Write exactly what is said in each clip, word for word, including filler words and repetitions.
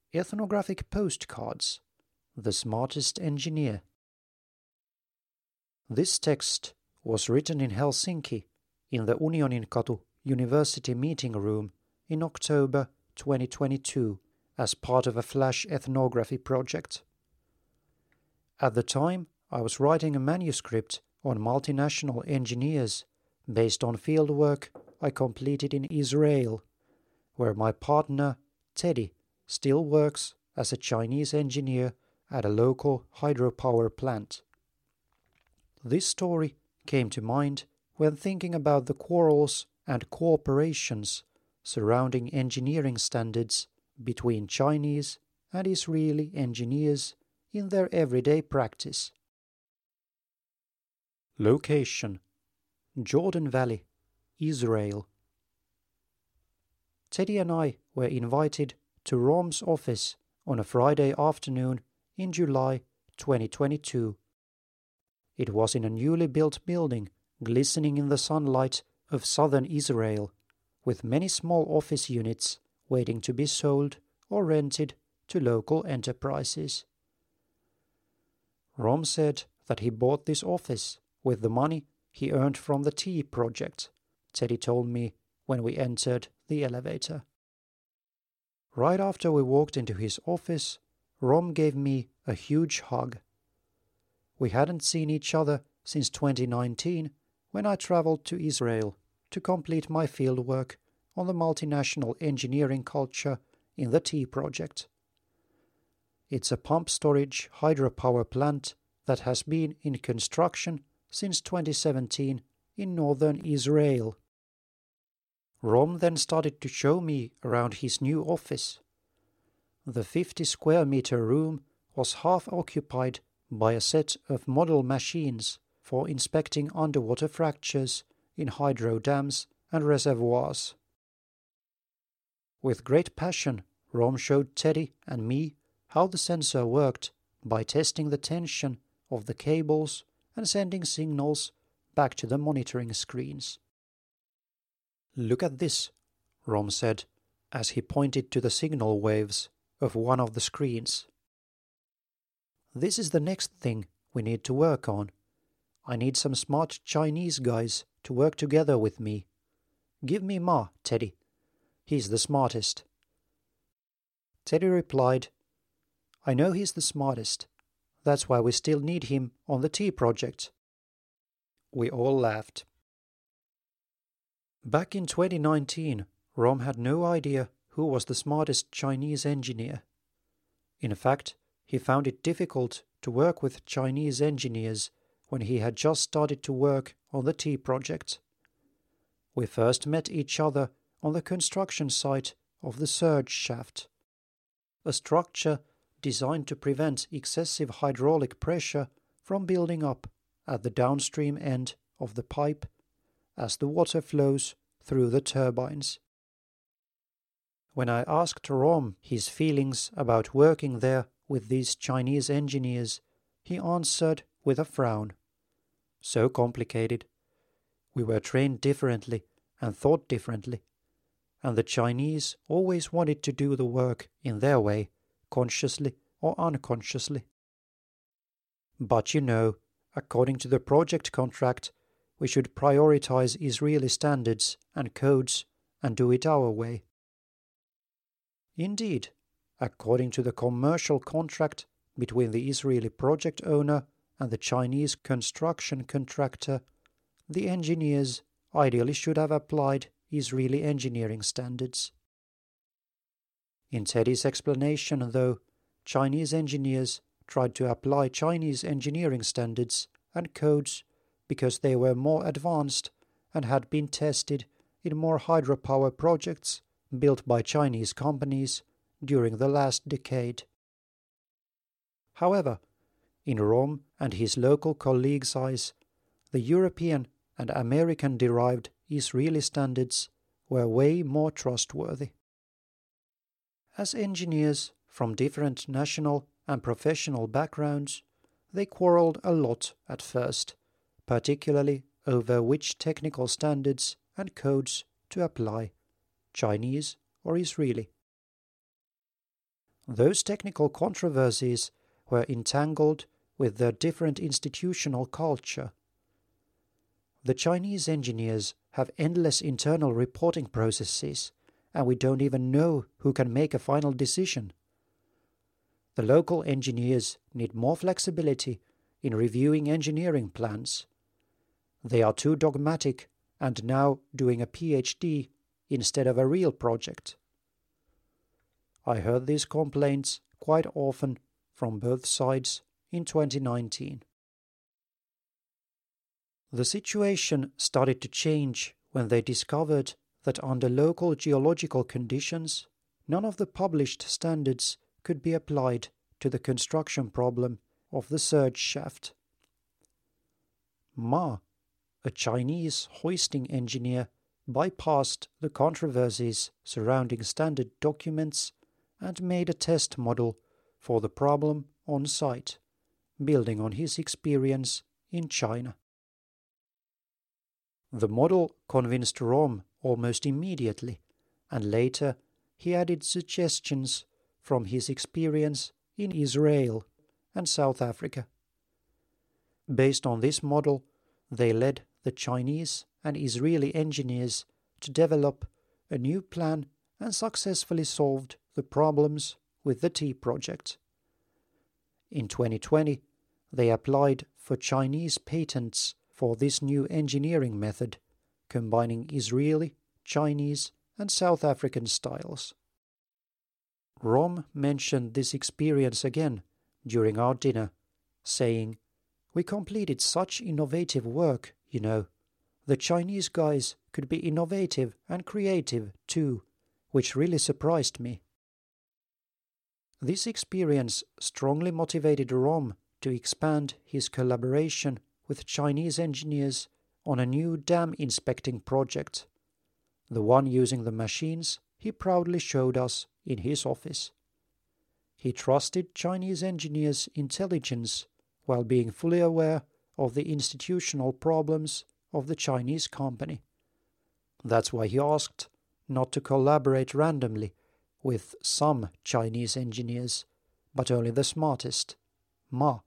Ethnographic Postcards, The Smartest Engineer. This text was written in Helsinki in the Unioninkatu University meeting room in October twenty twenty-two as part of a flash ethnography project. At the time, I was writing a manuscript on multinational engineers based on fieldwork I completed in Israel, where my partner, Teddy, still works as a Chinese engineer at a local hydropower plant. This story came to mind when thinking about the quarrels and cooperations surrounding engineering standards between Chinese and Israeli engineers in their everyday practice. Location: Jordan Valley, Israel. Teddy and I were invited to Rom's office on a Friday afternoon in July twenty twenty-two. It was in a newly built building glistening in the sunlight of southern Israel, with many small office units waiting to be sold or rented to local enterprises. Rom said that he bought this office with the money he earned from the tea project, Teddy told me when we entered the elevator. Right after we walked into his office, Rom gave me a huge hug. We hadn't seen each other since twenty nineteen, when I traveled to Israel to complete my fieldwork on the multinational engineering culture in the tea project. It's a pump storage hydropower plant that has been in construction since twenty seventeen in northern Israel. Rom then started to show me around his new office. The fifty square meter room was half occupied by a set of model machines for inspecting underwater fractures in hydro dams and reservoirs. With great passion, Rom showed Teddy and me how the sensor worked by testing the tension of the cables and sending signals back to the monitoring screens. "Look at this," Rom said, as he pointed to the signal waves of one of the screens. "This is the next thing we need to work on. I need some smart Chinese guys to work together with me. Give me Ma, Teddy. He's the smartest." Teddy replied, "I know he's the smartest. That's why we still need him on the tea project." We all laughed. Back in twenty nineteen, Rom had no idea who was the smartest Chinese engineer. In fact, he found it difficult to work with Chinese engineers when he had just started to work on the tea project. We first met each other on the construction site of the surge shaft, a structure designed to prevent excessive hydraulic pressure from building up at the downstream end of the pipe as the water flows through the turbines. When I asked Rom his feelings about working there with these Chinese engineers, he answered with a frown. So complicated. We were trained differently and thought differently, and the Chinese always wanted to do the work in their way, consciously or unconsciously. But you know, according to the project contract, we should prioritize Israeli standards and codes and do it our way. Indeed, according to the commercial contract between the Israeli project owner and the Chinese construction contractor, the engineers ideally should have applied Israeli engineering standards. In Teddy's explanation, though, Chinese engineers tried to apply Chinese engineering standards and codes because they were more advanced and had been tested in more hydropower projects built by Chinese companies during the last decade. However, in Rom and his local colleagues' eyes, the European and American-derived Israeli standards were way more trustworthy. As engineers from different national and professional backgrounds, they quarreled a lot at first, particularly over which technical standards and codes to apply, Chinese or Israeli. Those technical controversies were entangled with their different institutional culture. The Chinese engineers have endless internal reporting processes, and we don't even know who can make a final decision. The local engineers need more flexibility in reviewing engineering plans. They are too dogmatic and now doing a PhD instead of a real project. I heard these complaints quite often from both sides in twenty nineteen. The situation started to change when they discovered that under local geological conditions, none of the published standards could be applied to the construction problem of the surge shaft. Ma, a Chinese hoisting engineer, bypassed the controversies surrounding standard documents and made a test model for the problem on site, building on his experience in China. The model convinced Rom almost immediately, and later he added suggestions from his experience in Israel and South Africa. Based on this model, they led the Chinese and Israeli engineers to develop a new plan and successfully solved the problems with the T project. In twenty twenty, they applied for Chinese patents for this new engineering method, combining Israeli, Chinese, and South African styles. Rom mentioned this experience again during our dinner, saying, "We completed such innovative work, you know. The Chinese guys could be innovative and creative too, which really surprised me." This experience strongly motivated Rom to expand his collaboration with Chinese engineers on a new dam inspecting project, the one using the machines he proudly showed us in his office. He trusted Chinese engineers' intelligence while being fully aware of the institutional problems of the Chinese company. That's why he asked not to collaborate randomly with some Chinese engineers, but only the smartest, Ma.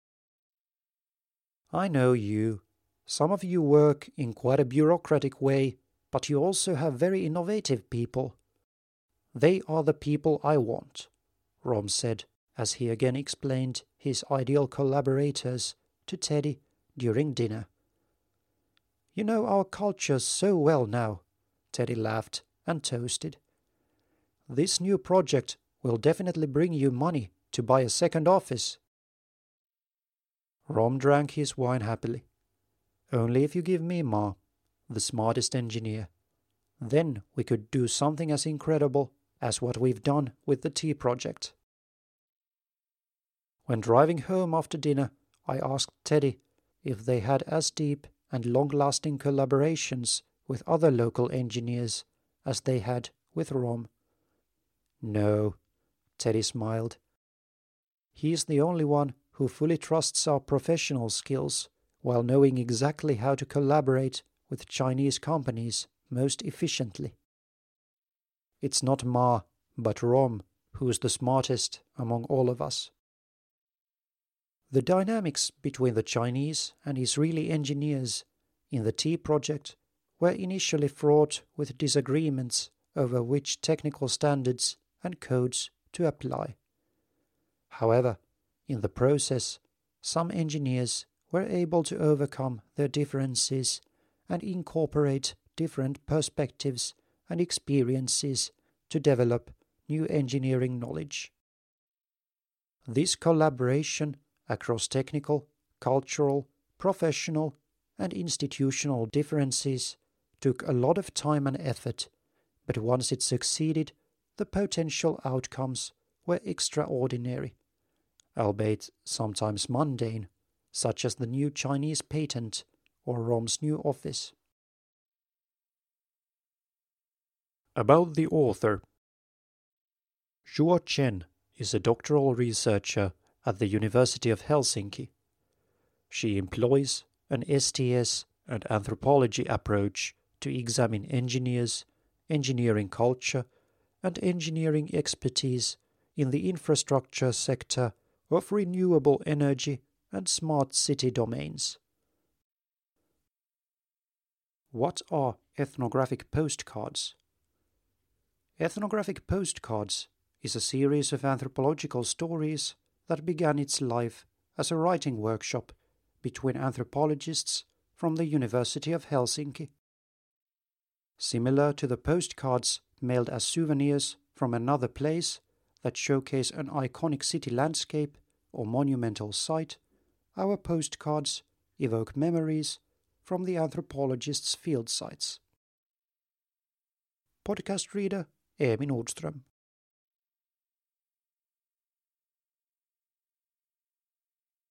I know you. Some of you work in quite a bureaucratic way, but you also have very innovative people. They are the people I want, Rom said, as he again explained his ideal collaborators to Teddy during dinner. You know our culture so well now, Teddy laughed and toasted. This new project will definitely bring you money to buy a second office. Rom drank his wine happily. Only if you give me Ma, the smartest engineer. Then we could do something as incredible as what we've done with the T project. When driving home after dinner, I asked Teddy if they had as deep and long-lasting collaborations with other local engineers as they had with Rom. No, Teddy smiled. He's the only one who fully trusts our professional skills while knowing exactly how to collaborate with Chinese companies most efficiently. It's not Ma, but Rom, who's the smartest among all of us. The dynamics between the Chinese and Israeli engineers in the T project were initially fraught with disagreements over which technical standards and codes to apply. However, in the process, some engineers were able to overcome their differences and incorporate different perspectives and experiences to develop new engineering knowledge. This collaboration across technical, cultural, professional, and institutional differences took a lot of time and effort, but once it succeeded, the potential outcomes were extraordinary, albeit sometimes mundane, such as the new Chinese patent or Rom's new office. About the author. Zhuo Chen is a doctoral researcher at the University of Helsinki. She employs an S T S and anthropology approach to examine engineers, engineering culture, and engineering expertise in the infrastructure sector of renewable energy and smart city domains. What are ethnographic postcards? Ethnographic postcards is a series of anthropological stories that began its life as a writing workshop between anthropologists from the University of Helsinki. Similar to the postcards mailed as souvenirs from another place that showcase an iconic city landscape or monumental site, our postcards evoke memories from the anthropologists' field sites. Podcast reader Eemi Nordström.